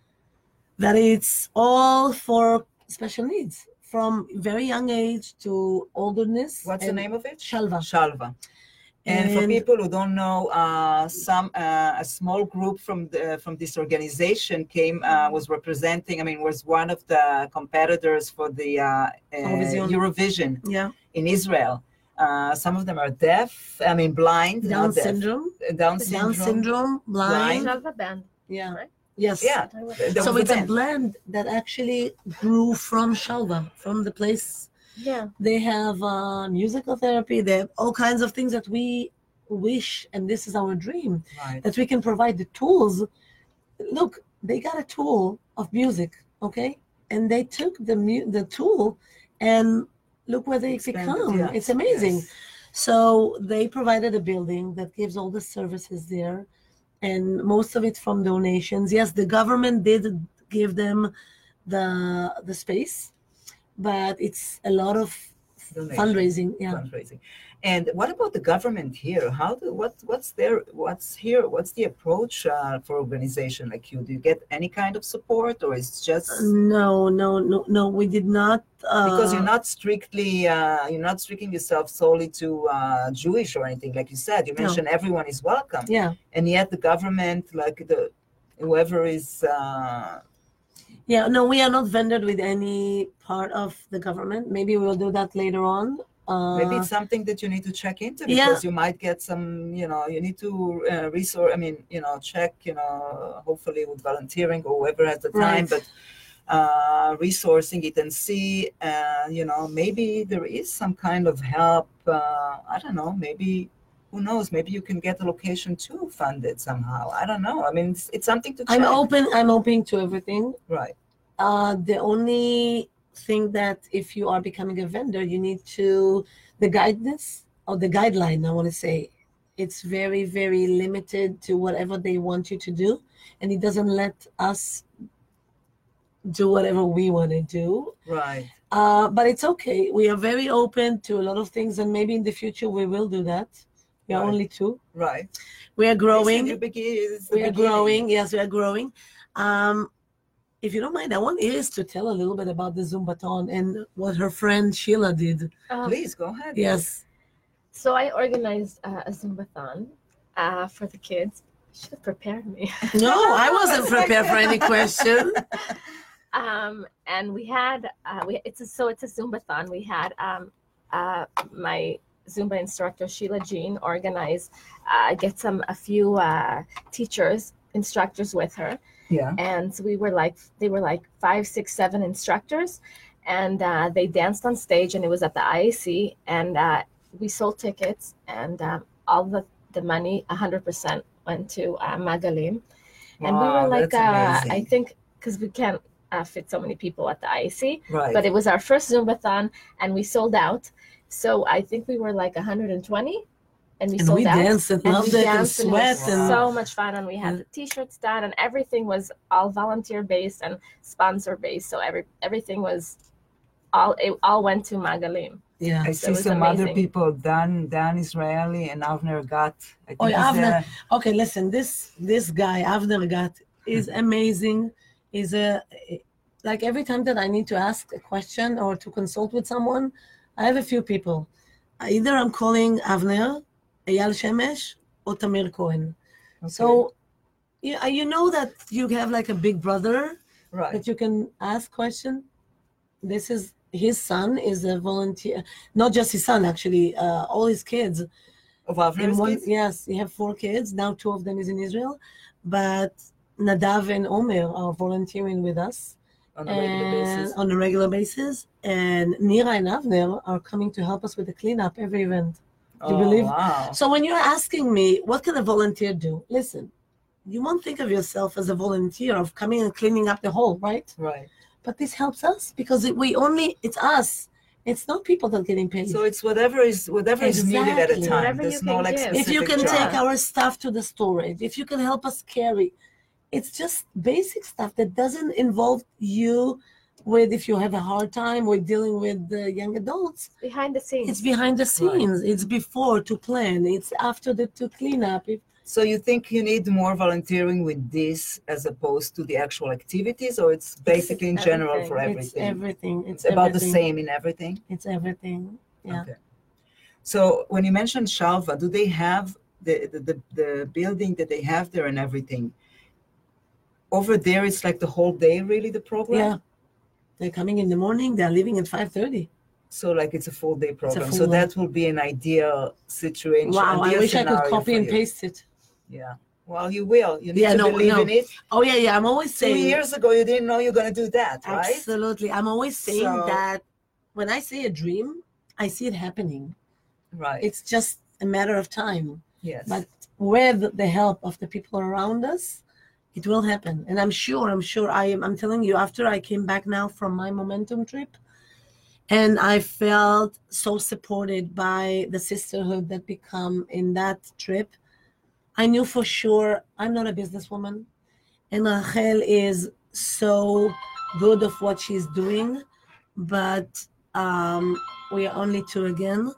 that it's all for special needs from very young age to olderness. What's the and name of it? Shalva. Shalva. And, for And- people who don't know, uh, some uh, a small group from the from this organization came uh, was representing. I mean, was one of the competitors for the uh, uh, Eurovision. Eurovision Yeah, in Israel. Uh, some of them are deaf. I mean, blind. Down not deaf. syndrome, Uh, Down syndrome. Down syndrome, blind. Shalva band. Yeah, Right? yes. Yeah. There So was it's a a band. blend that actually grew from Shalva, from the place. Yeah. They have uh, musical therapy. They have all kinds of things that we wish, and this is our dream, Right. that we can provide the tools. Look, they got a tool of music, okay? And they took the mu- the tool and look where they Expanded, become. yeah. It's amazing. Yes. So they provided a building that gives all the services there, and most of it from donations. Yes, the government did give them the the space, but it's a lot of Donation. fundraising. Yeah. Fundraising. And what about the government here? How do what what's their what's here? What's the approach uh, for organization like you? Do you get any kind of support, or it's just No, no, no, no. We did not. Uh, because you're not strictly uh, you're not restricting yourself solely to uh, Jewish or anything, like you said. You No. mentioned everyone is welcome, Yeah, and yet the government, like the whoever is. Uh, yeah. No, we are not vended with any part of the government. Maybe we'll do that later on. Uh, Maybe it's something that you need to check into Yeah. because you might get some, you know, you need to uh, resource, I mean, you know, check, you know, hopefully with volunteering or whoever has the time, Right. but uh, resourcing it and see, uh, you know, maybe there is some kind of help. Uh, I don't know, maybe, who knows, maybe you can get a location too funded somehow. I don't know. I mean, it's, it's something to check. I'm open. I'm open to everything. Right. Uh, the only thing that if you are becoming a vendor, you need to, the guidance or the guideline, I want to say, it's very, very limited to whatever they want you to do. And it doesn't let us do whatever we want to do. Right. Uh, but it's okay. We are very open to a lot of things. And maybe in the future we will do that. We are Right. only two. Right. We are It's growing. the begin- it's the We are beginning. growing. Yes, we are growing. Um, if you don't mind, I want Iris to tell a little bit about the Zumbathon and what her friend Sheila did. Um, Please go ahead. Yes. So I organized uh, a Zumbathon uh, for the kids. You should have prepared me. No, I wasn't prepared for any question. um, and we had uh, we it's a, so it's a Zumbathon. We had um, uh, my Zumba instructor Sheila Jean organize, uh, get some a few uh, teachers, instructors with her. Yeah. And so we were like, they were like five, six, seven instructors, and uh, they danced on stage, and it was at the I A C, and uh, we sold tickets, and um, all the, the money, one hundred percent went to uh, Magalim. And we Wow, were like, that's uh, amazing. I think, because we can't uh, fit so many people at the I A C, Right. but it was our first Zumbathon, and we sold out. So I think we were like one hundred twenty, and we And sold we out. danced and And loved we it and danced, and it was sweat and so much fun, and we had the t-shirts done, and everything was all volunteer based and sponsor based. So every everything was all it all went to Magalim. yeah. I So see it was some other amazing. people, Dan, Dan Israeli and Avner Gat. I think Oh, yeah, he's Avner. a- Okay, listen, this this guy, Avner Gat, is amazing. Is a like every time that I need to ask a question or to consult with someone, I have a few people. Either I'm calling Avner, Eyal Shemesh, or Tamir Cohen. So yeah, you know that you have like a big brother right. that you can ask question. This is his son is a volunteer, not just his son actually, uh, all his kids. Of In Avner's one, kids? yes, he have four kids. Now two of them is in Israel, but Nadav and Omer are volunteering with us On a regular and basis. on a regular basis. And Nira and Avner are coming to help us with the cleanup every event. Do you Oh, believe? wow. So when you're asking me, what can a volunteer do? Listen, you won't think of yourself as a volunteer of coming and cleaning up the hole, right? Right. But this helps us because it, we only, it's us. It's not people that are getting paid. So it's whatever is whatever is needed at a Exactly. time. Whatever There's you no can like give. specific if you can job. take our stuff to the storage, if you can help us carry, it's just basic stuff that doesn't involve you with, if you have a hard time with dealing with the young adults, Behind the scenes. it's behind the scenes. It's before to plan. It's after the to clean up. If, So you think you need more volunteering with this as opposed to the actual activities, or it's basically in general for it's everything? everything. It's It's about the everything. same in everything? It's everything. Yeah. Okay. So when you mentioned Shalva, do they have the, the, the, the building that they have there and everything? Over there, it's like the whole day, really, the program? Yeah. They're coming in the morning. They're leaving at five thirty. So like it's a full day program. full So day. that will be an ideal situation. Wow. I ideal wish I could scenario copy for and you. paste it. Yeah. Well, you will. You need Yeah, to no, believe no. in it. Oh yeah, yeah. I'm always Two saying. years ago, you didn't know you're going to do that, right? Absolutely. I'm always saying So- that when I say a dream, I see it happening. Right. It's just a matter of time. yes. But with the help of the people around us, it will happen. And I'm sure, I'm sure I am, I'm telling you, after I came back now from my Momentum trip, and I felt so supported by the sisterhood that become in that trip, I knew for sure I'm not a businesswoman. And Rachel is so good of what she's doing, but um, we are only two again.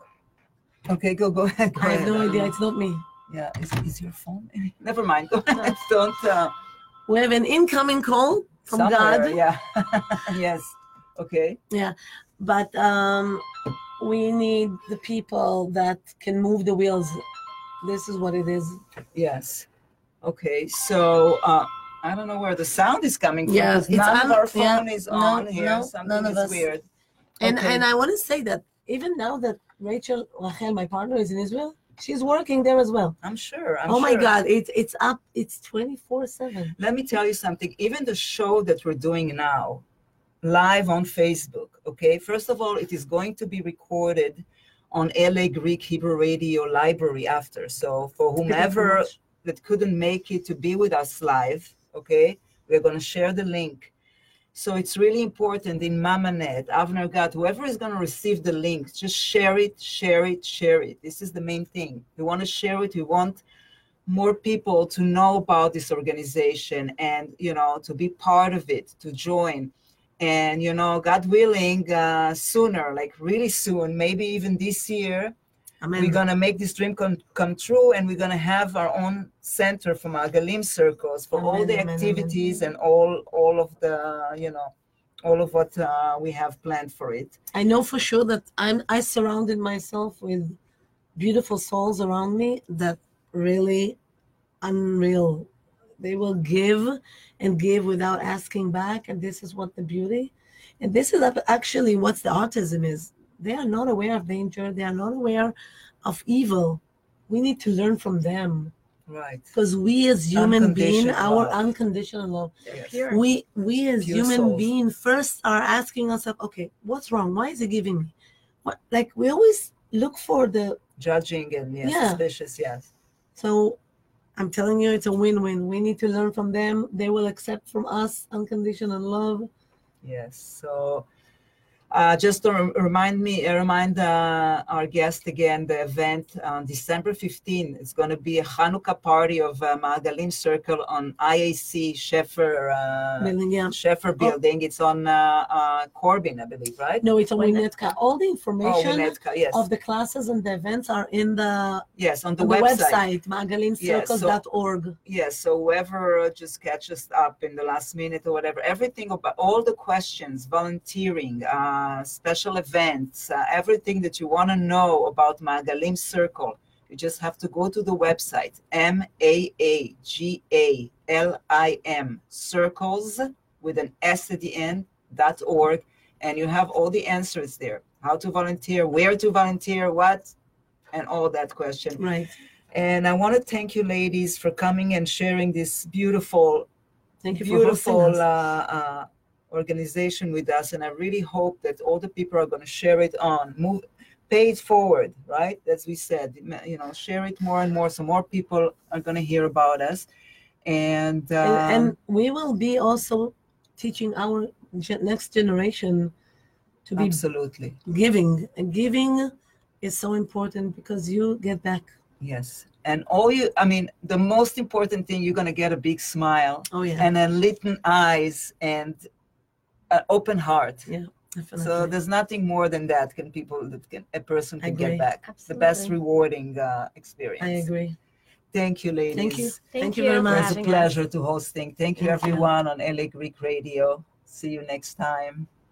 Okay, go go ahead. Go I have ahead. no don't idea. know. It's not me. Yeah. Is, is your phone? Never mind. Go ahead. Don't. Uh, We have an incoming call from somewhere, God. Yeah. yes. Okay. But um, we need the people that can move the wheels. This is what it is. Yes. Okay. So uh, I don't know where the sound is coming from. Yeah, 'cause it's none on- of our yeah, phone is no, on here. no, Something none of is us. weird. And Okay. and I want to say that even now that Rachel, Rachel, my partner, is in Israel, she's working there as well. I'm sure. I'm oh my sure. God, it's it's up. It's twenty-four seven. Let me tell you something. Even the show that we're doing now, live on Facebook, okay? First of all, it is going to be recorded on L A Greek Hebrew Radio Library after. So for whomever that couldn't make it to be with us live, okay, we're going to share the link. So it's really important in Mamanet, Avner Gat, whoever is going to receive the link, just share it, share it, share it. This is the main thing. We want to share it. We want more people to know about this organization and, you know, to be part of it, to join. And, you know, God willing, uh, sooner, like really soon, maybe even this year, Amen. we're going to make this dream come, come true, and we're going to have our own center for Magalim circles for all Amen, the amen, activities and all all of the, you know, all of what uh, we have planned for it. I know for sure that I'm. I surrounded myself with beautiful souls around me that really unreal. They will give and give without asking back, and this is what the beauty. And this is actually what the autism is. They are not aware of danger. They are not aware of evil. We need to learn from them. Right. Because we as human beings, Unconditional our love. unconditional love, Yes. Pure. we we as Pure human souls. beings first are asking ourselves, okay, what's wrong? Why is he giving me? What, like we always look for the, Judging and yes, Yeah. suspicious, yes. so I'm telling you, it's a win-win. We need to learn from them. They will accept from us unconditional love. Yes. So uh, just to rem- remind me, uh, remind uh, our guest again, the event on December fifteenth. It's going to be a Hanukkah party of uh, Ma'agalim Circle on I A C Sheffer, uh, Building, yeah. Sheffer building. It's on uh, uh, Corbin, I believe, right? No, it's a Winnetka. Winnetka. All the Oh, information Winnetka, yes. of the classes and the events are in the, Yes, on the on the website. website, ma'agalim circles dot org. Yes, so whoever uh, just catches up in the last minute or whatever, everything about all the questions, volunteering, uh, special events, uh, everything that you want to know about Ma'agalim Circle, you just have to go to the website, M A A G A L I M, circles with an S at the end, dot org, and you have all the answers there. How to volunteer, where to volunteer, what, and all that question. Right. And I want to thank you, ladies, for coming and sharing this beautiful, Thank you for hosting beautiful uh, us. uh, organization with us. And I really hope that all the people are going to share it on, move, pay it forward, right? As we said, you know, share it more and more, so more people are going to hear about us. And, um, and, and we will be also teaching our ge- next generation to be absolutely, giving. And giving is so important because you get back. yes. And all you, I mean, the most important thing, you're going to get a big smile Oh, yeah. and then lit eyes and an open heart. yeah, definitely. So there's nothing more than that can people that can a person I can agree. get back. The best Absolutely. rewarding uh, experience. I agree. Thank you, ladies. Thank you. Thank Thank you you very for much. It was a having us. pleasure to hosting. Thank you, Thank you. everyone on L A Greek Radio. See you next time.